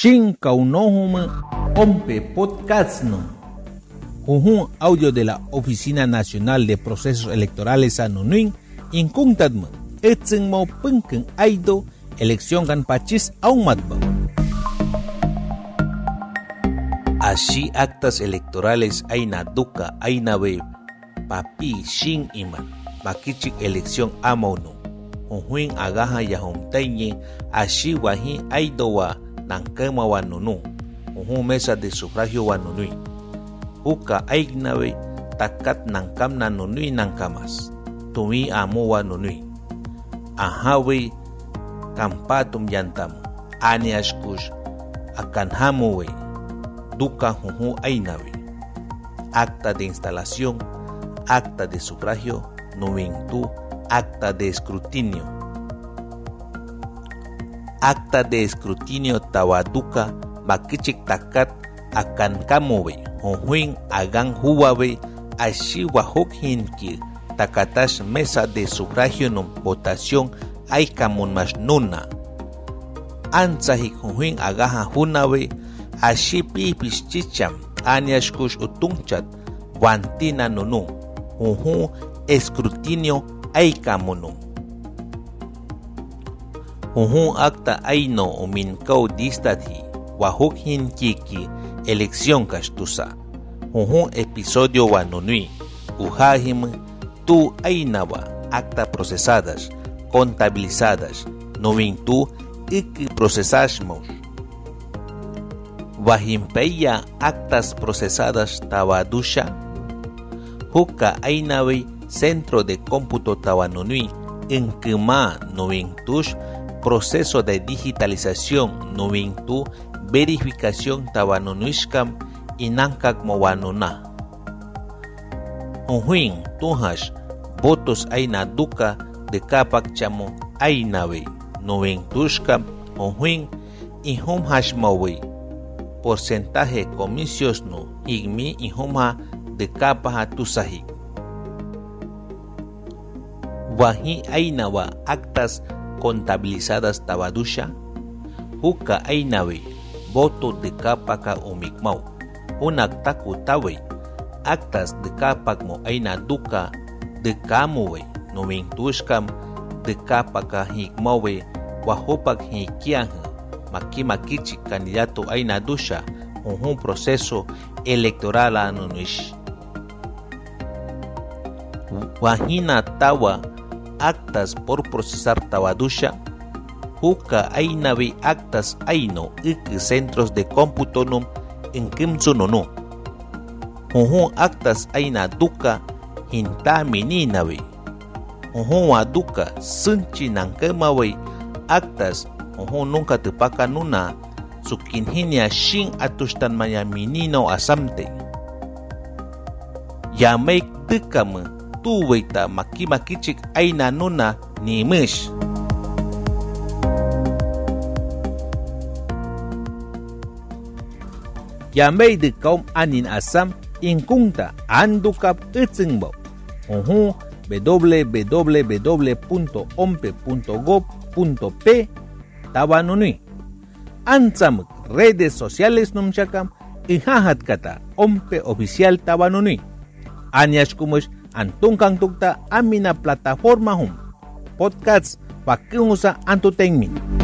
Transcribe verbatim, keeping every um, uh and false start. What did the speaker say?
Shin kaunohum ompe podcast no. Un audio de la Oficina Nacional de Procesos Electorales Anunuin incuntadma etsenmo punken aido elección gan pachis aumatba. Así actas electorales aina duka aina be papi shin iman makichik elección amonu unhuin agaja yahomteñe así wahi aido wa nankema wa nunu unhu mesa de sufragio wa nunui uka aignabe takat nankam na nunui nankamas tumi amu wa nunui ahawe kampatum yantamu ani ashkush akan hamuwe duka huhu ainawe acta de instalación, acta de sufragio, nuvintu, acta de escrutinio. Acta de escrutinio tawaduka makichik takat akan kamuwe huhuin agan huwawe ashiwa hukhinki takatash mesa de sufragio no votación aikamun mas nuna ansahik huhuin agaha hunawe ashi pipis chicham aniashkush utunchat wantina nunu huhu escrutinio aikamunu huhu acta aino uminkau distadhi wahukhin kiki elección kastusa huhu episodio wanunui uhahim tu ainawa acta procesadas contabilizadas novintu iki procesasmos Wahimpeya actas procesadas tawadusha Huka ainawe centro de cómputo tawanunui enkema novintush proceso de digitalización novintu verificación tawanunuishkam inankak mowanuna Unhuin tuhash votos aina duka de kapak chamo ainawe novintushkam unhuin ihum hashmawe porcentaje comicios no igmi y homa de capa tusahi wahi ainawa actas contabilizadas tabadusha huka ainawe voto de capa ka umikmau unak taku tawe actas de capa mo aina duka de kamuwe no vintushkam de capa ka hikmawe wahopak hikiang Makimakichi candidato aina dusha un proceso electoral anunuish. Wahina tawa actas por procesar tawadusha. Huka ainawe actas aino iki centros de cómputo num en kimsununu. Uhu actas aina duka hinta mininawe. Uhu aduka sunchi nankemawe actas Oho nunca te paka nuna sukinhinia shin atustan maya minino asamte ya make dekam tu weita makimakichik aina nuna ni mish ya mei de kaum anin asam inkunta andukap itzingbo oho w w w punto ompe punto gob punto p Tawanunui Ansamuk redes sociales numchakam ihahat kata ompe oficial Tawanunui Anyashkumush antunkang tukta amina plataforma hum podcasts wakiungusa antutenmin